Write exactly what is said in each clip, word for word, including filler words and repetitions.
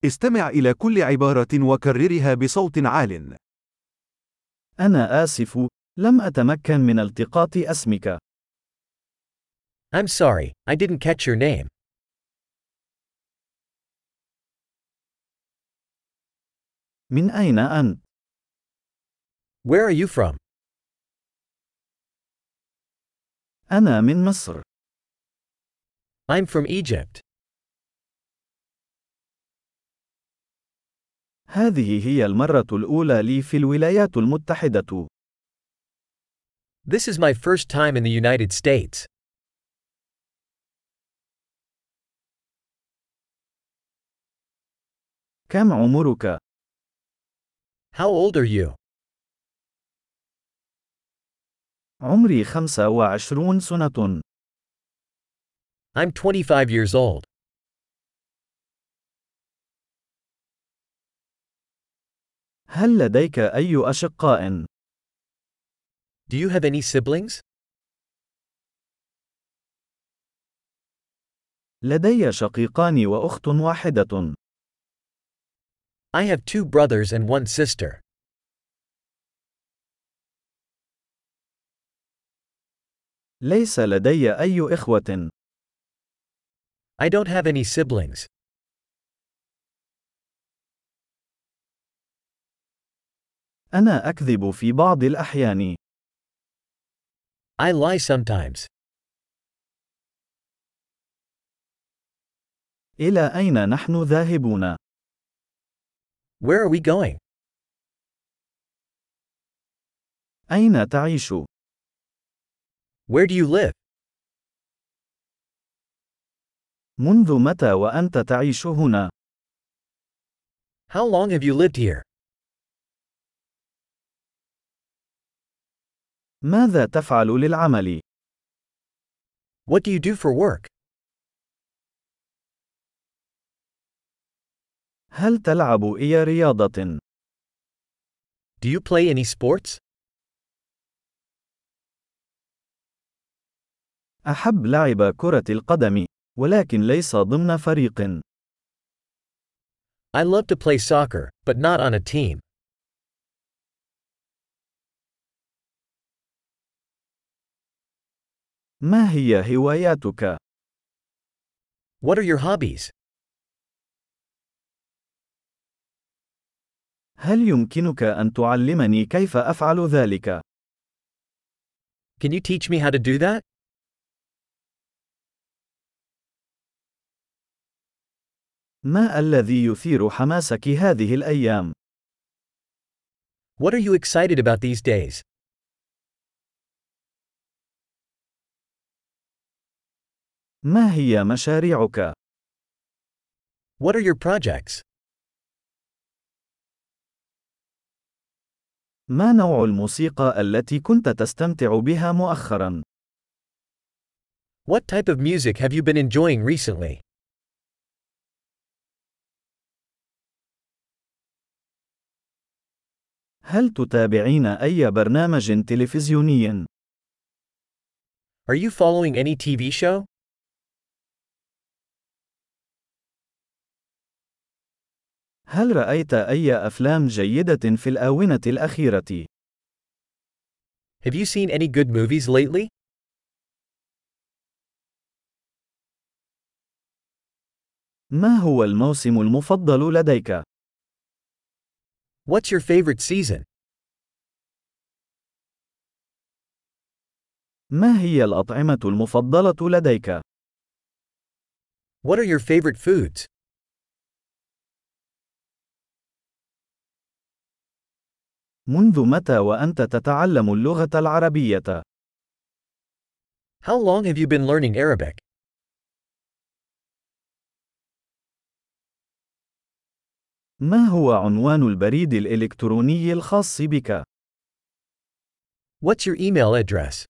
استمع إلى كل عبارة وكررها بصوت عال. أنا آسف، لم أتمكن من التقاط اسمك. I'm sorry, I didn't catch your name. من أين أنت؟ Where are you from? أنا من مصر. I'm from Egypt. هذه هي المرة الأولى لي في الولايات المتحدة. This is my first time in the United States. كم عمرك؟ How old are you? عمري خمسة وعشرون سنة. I'm twenty-five years old. هل لديك أي أشقاء؟ Do you have any siblings? لدي شقيقان وأخت واحدة. I have two brothers and one sister. ليس لدي أي إخوة. I don't have any siblings. أنا أكذب في بعض الأحيان. I lie sometimes. إلى أين نحن ذاهبون؟ Where are we going? أين تعيش؟ Where do you live? منذ متى وأنت تعيش هنا؟ How long have you lived here? ماذا تفعل للعمل؟ What do you do for work? هل تلعب أي رياضة؟ Do you play any sports? أحب لعب كرة القدم، ولكن ليس ضمن فريق. I love to play soccer, but not on a team. ما هي هواياتك؟ What are your hobbies? هل يمكنك أن تعلمني كيف أفعل ذلك؟ Can you teach me how to do that? ما الذي يثير حماسك هذه الأيام؟ What are you excited about these days? ما هي مشاريعك؟ What are your projects? ما نوع الموسيقى التي كنت تستمتع بها مؤخرا؟ What type of music have you been enjoying recently? هل تتابعين أي برنامج تلفزيوني؟ Are you following any T V show? هل رأيت أي أفلام جيدة في الآونة الأخيرة؟ Have you seen any good movies lately? ما هو الموسم المفضل لديك؟ What's your favorite season? ما هي الأطعمة المفضلة لديك؟ What are your favorite foods? منذ متى وأنت تتعلم اللغة العربية؟ How long have you been learning Arabic? ما هو عنوان البريد الإلكتروني الخاص بك؟ What's your email address?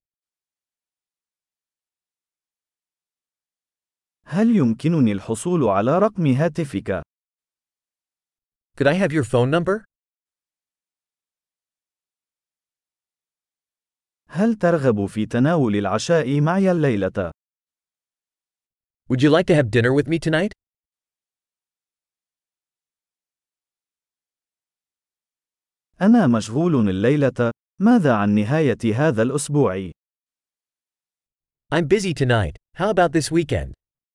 هل يمكنني الحصول على رقم هاتفك؟ Could I have your phone number? هل ترغب في تناول العشاء معي الليلة؟ Would you like to have dinner with me tonight? أنا مشغول الليلة. ماذا عن نهاية هذا الأسبوع؟ I'm busy tonight. How about this weekend?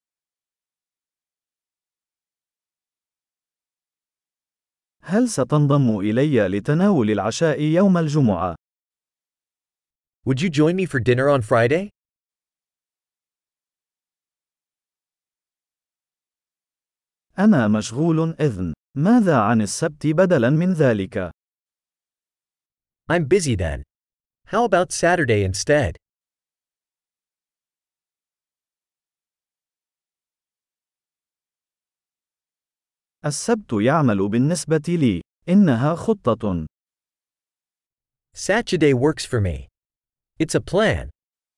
هل ستنضم إلي لتناول العشاء يوم الجمعة؟ Would you join me for dinner on Friday? أنا مشغول إذن. ماذا عن السبت بدلاً من ذلك؟ I'm busy then. How about Saturday instead? السبت يعمل بالنسبة لي. إنها خطة. Saturday works for me. It's a plan.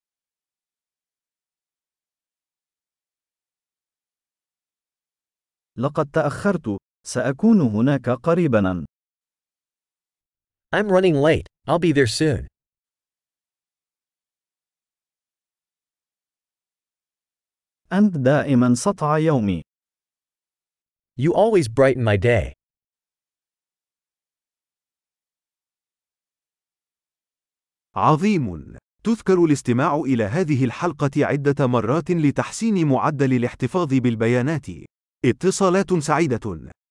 لقد تأخرت. سأكون هناك قريباً. I'm running late. I'll be there soon. أنت دائماً سطع يومي. You always brighten my day. عظيم. تذكر الاستماع إلى هذه الحلقة عدة مرات لتحسين معدل الاحتفاظ بالبيانات. اتصالات سعيدة.